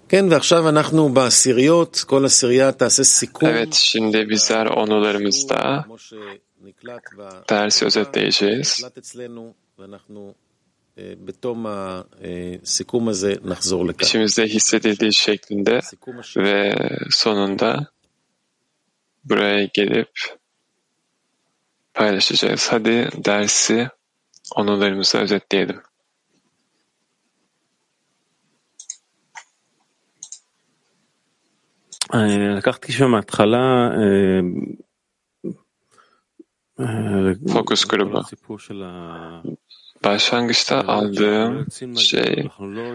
Evet, şimdi bizler onularımızda dersi özetleyeceğiz. İçimizde hissedildiği şeklinde ve sonunda buraya gelip paylaşacağız. Hadi dersi onularımızı özetleyelim. לקחתי שם מההתחלה Fokus grubu. Başlangıçta aldığım şey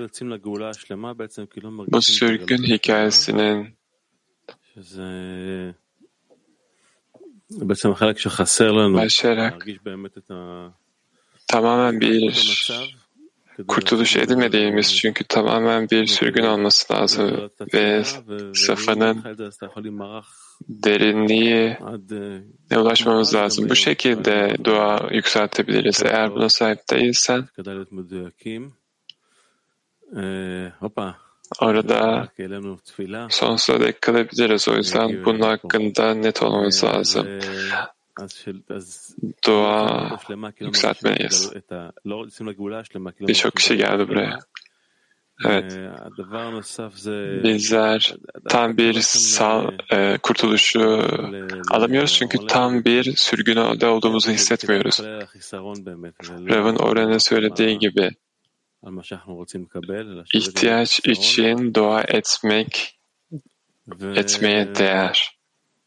bu sürgün hikayesinin başlayarak tamamen bir kurtuluş edemediğimiz, çünkü tamamen bir sürgün olması lazım ve Safa'nın derinliğine ulaşmamız lazım. Bu şekilde dua yükseltebiliriz. Eğer buna sahip değilsen orada sonsuza dek kalabiliriz. O yüzden bunun hakkında net olmamız lazım. Dua yükseltmeliyiz. Birçok kişi geldi buraya. Evet. Bizler tam bir kurtuluşu alamıyoruz, çünkü tam bir sürgünde olduğumuzu hissetmiyoruz. Rav'ın Oren'e söylediği gibi ihtiyaç için dua etmeye değer.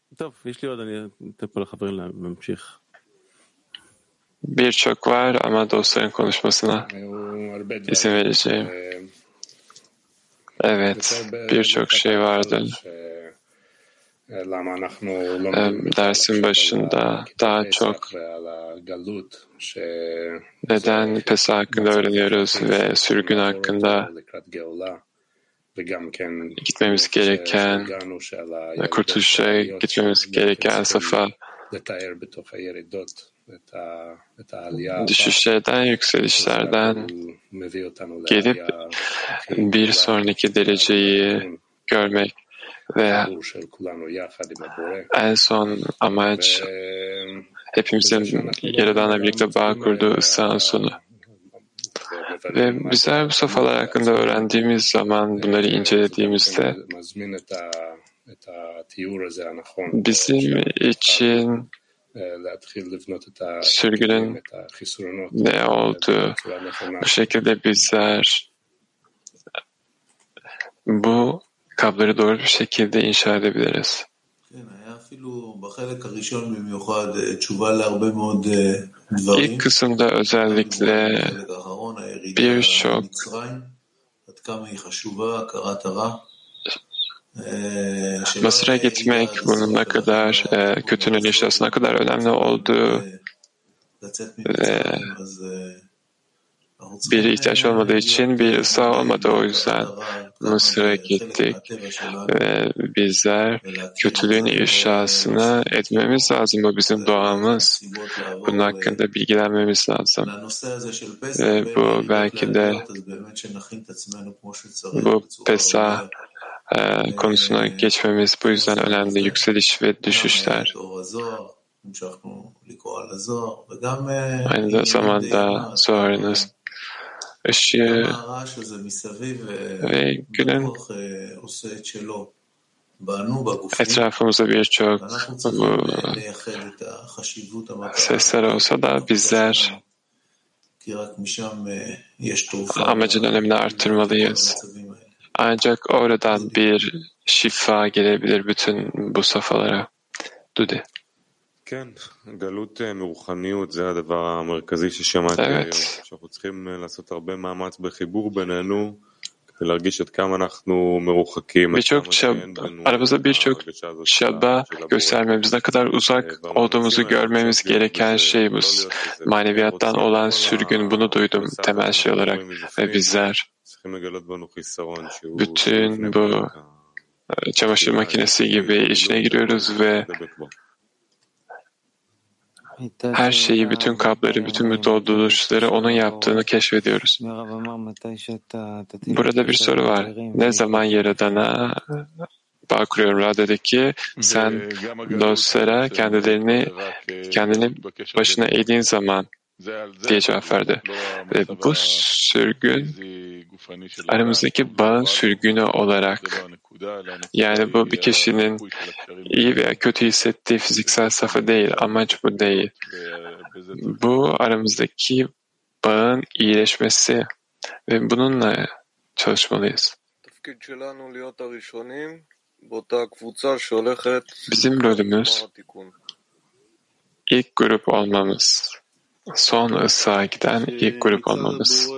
Birçok var ama dostların konuşmasına izin vereceğim. Evet, birçok şey vardı. Dersin başında daha çok neden Pesah hakkında öğreniyoruz ve sürgün hakkında gitmemiz gereken, kurtuluşa gitmemiz gereken safa, düşüşlerden, yükselişlerden gelip bir sonraki dereceyi görmek ve en son amaç hepimizin Yaradan'la birlikte bağ kurduğu ıslahın sonu. Ve bizler bu safhalar hakkında öğrendiğimiz zaman, bunları incelediğimizde bizim için sürgünün ne olduğu, bu şekilde bizler bu kabları doğru bir şekilde inşa edebiliriz. İlk kısımda özellikle birçok Mısır'a gitmek, bunun ne kadar kötünün işlasına ne kadar önemli olduğu ve bir ihtiyaç olmadığı için bir ıslah olmadı. O yüzden Mısır'a gittik ve bizler kötülüğün ifşasını etmemiz lazım. Bu bizim doğamız. Bunun hakkında bilgilenmemiz lazım. Ve bu belki de bu Pesah konusuna geçmemiz bu yüzden önemli. Yükseliş ve düşüşler. Aynı zamanda Zohar'ınız ışığı ve günün etrafımızda birçok sesler olsa da bizler amacın önemini artırmalıyız. Ancak oradan bir şifa gelebilir bütün bu safhalara. Dudi. Evet. Aramızda birçok çaba göstermemiz, ne kadar uzak olduğumuzu görmemiz gereken şey bu. Maneviyattan olan sürgün, bunu duydum temel şey olarak. Ve bizler bütün bu çamaşır makinesi gibi içine giriyoruz ve Her şeyi, bütün kapları, bütün bu dolduruşları onun yaptığını keşfediyoruz. Burada bir soru var. Ne zaman Yaradan'a bağ kuruyorum? Ra dedi ki sen dostlara kendini başına eğdiğin zaman diye cevap verdi. Ve bu sürgün aramızdaki bağın sürgünü olarak, yani bu bir kişinin iyi veya kötü hissettiği fiziksel safha değil, amaç bu değil. Bu aramızdaki bağın iyileşmesi ve bununla çalışmalıyız. Bizim rolümüz ilk grup olmamız, son ısığa giden ilk grup olmamız.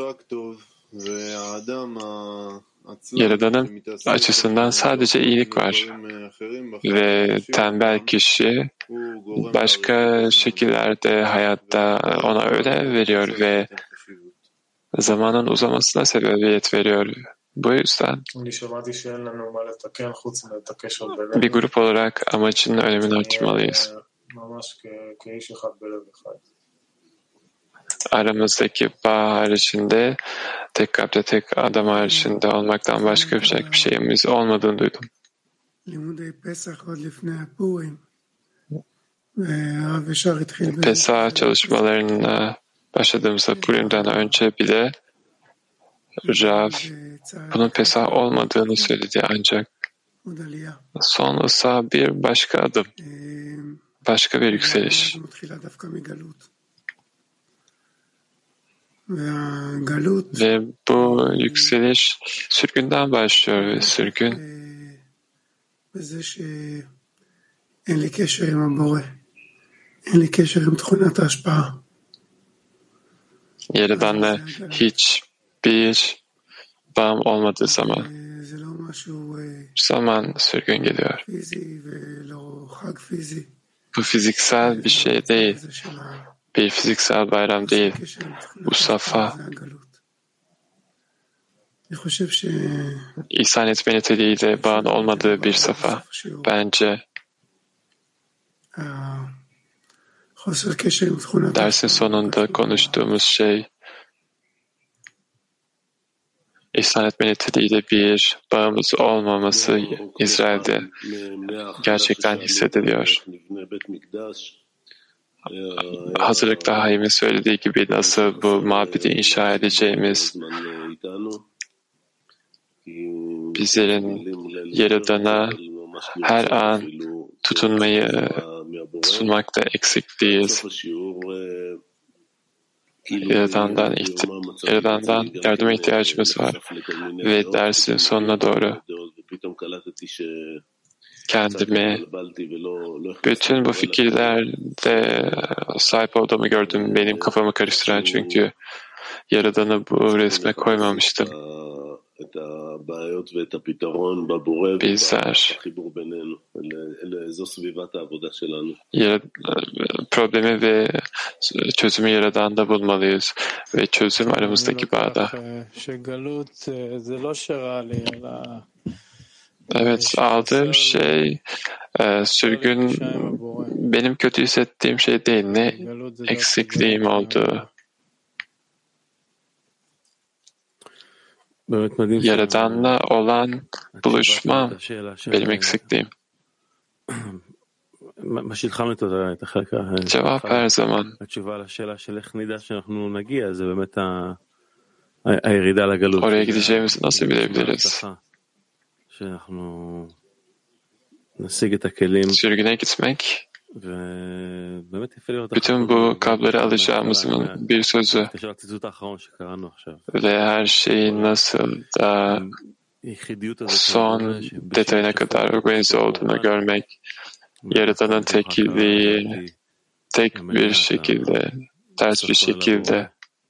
Yaradan'ın açısından sadece iyilik var ve tembel kişi başka şekillerde hayatta ona ödev veriyor ve zamanın uzamasına sebebiyet veriyor. Bu yüzden bir grup olarak amacın önemini artırmalıyız. Aramızdaki bağ haricinde, tek kalpte tek adam haricinde olmaktan başka bir şeyimiz olmadığını duydum. Pesah çalışmalarına başladığımızda Purim'den önce bile Rav bunun Pesah olmadığını söyledi, ancak son ısa bir başka adım, başka bir yükseliş. Ve bu yükseliş sürgünden başlıyor ve sürgün Yaradan'la hiçbir bağım olmadığı zaman sürgün geliyor. Bu fiziksel bir şey değil. Bir fiziksel bayram değil. Bu safa. İhsan etme niteliğiyle bağın olmadığı bir safa. Bence dersin sonunda konuştuğumuz şey ihsan etme niteliğiyle bir bağımız olmaması İsrail'de gerçekten hissediliyor. Hazırlıkta Haim'in söylediği gibi nasıl bu mabedi inşa edeceğimiz, bizlerin Yaradan'a her an tutunmakta eksik değiliz. Yaradan'dan yardıma ihtiyacımız var. Ve dersin sonuna doğru kendimi bütün bu fikirlerde sahip olduğumu gördüm. Benim kafamı karıştıran, çünkü Yaradan'ı bu resme koymamıştım. Bizler problemi ve çözümü Yaradan'da bulmalıyız ve çözüm aramızdaki bağda. Evet, aldığım şey sürgün benim kötü hissettiğim şey değil, ne eksikliğim olduğu. Yaradan'la olan buluşma benim eksikliğim. Cevap her zaman. Oraya gideceğimizi nasıl bilebiliriz? Sürgüne gitmek, bütün bu kabları alacağımızın bir sözü ve her şeyin nasıl da son detayına kadar organize olduğunu görmek, Yaradan'ın tekilliği tek bir şekilde, ters bir şekilde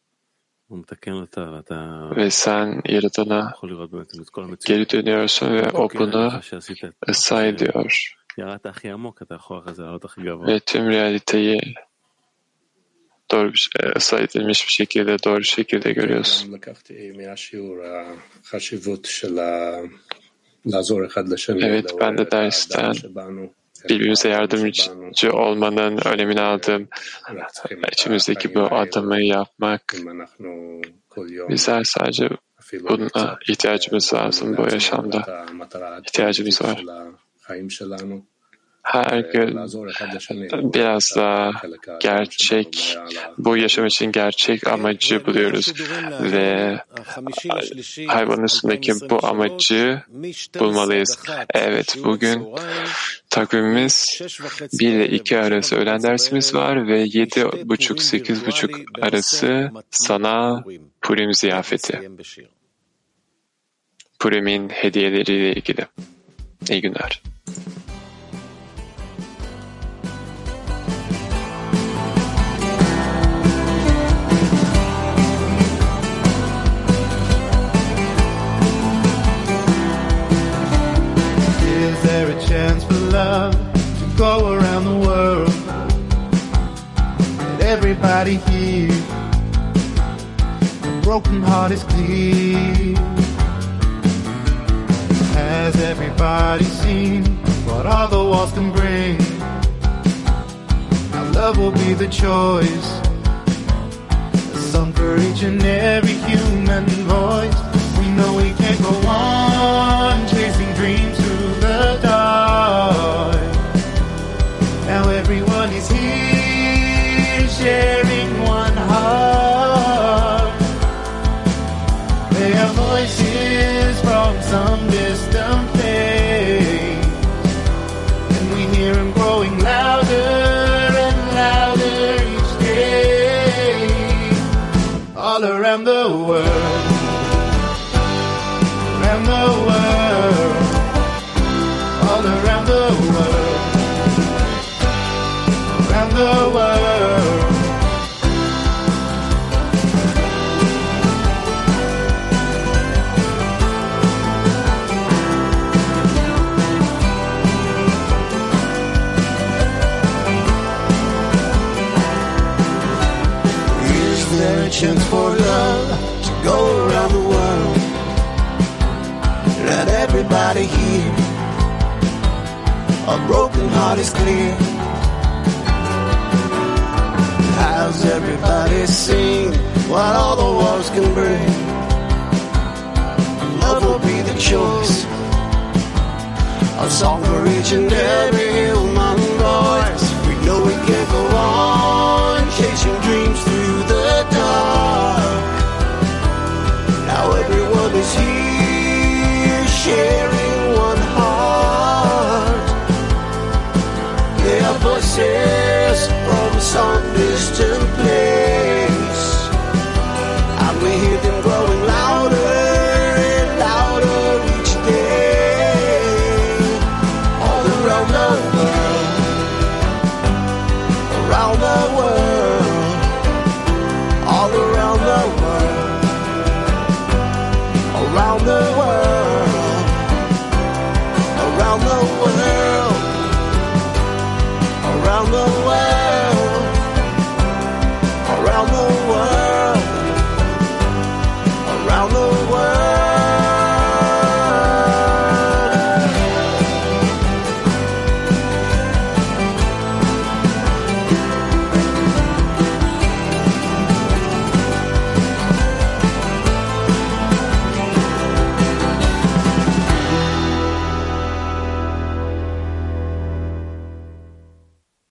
ve sen Yaradan'a geri dönüyorsun ve o bunu ıslah ediyor. Ve tüm realiteyi doğru ıslah edilmiş bir şekilde, doğru şekilde görüyorsun. Evet, ben de dersten birbirimize yardımcı olmanın önemini aldım. İçimizdeki bu adımı yapmak. Bizler sadece buna ihtiyacımız lazım bu yaşamda. İhtiyacımız var. Her gün biraz daha gerçek, bu yaşam için gerçek amacı buluyoruz ve hayvanın üstündeki bu amacı bulmalıyız. Evet, bugün takvimimiz 1 ile 2 arası öğlen dersimiz var ve 7.30-8.30 arası sana Purim ziyafeti. Purim'in hediyeleriyle ilgili. İyi günler. Is there a chance for love to go around the world? Let everybody hear. A broken heart is clear. Has everybody seen what all the walls can bring? Now love will be the choice, a song for each and every human voice. We know we can't go on chasing dreams through the dark. Now everyone is here sharing one heart. They are voices from some distant place, and we hear them growing louder and louder each day. All around the world, around the world, all around the world, around the world. Is there a chance for love to go around the world? Let everybody hear. A broken heart is clear. Has everybody seen what all the walls can bring? Love will be the choice, a song for each and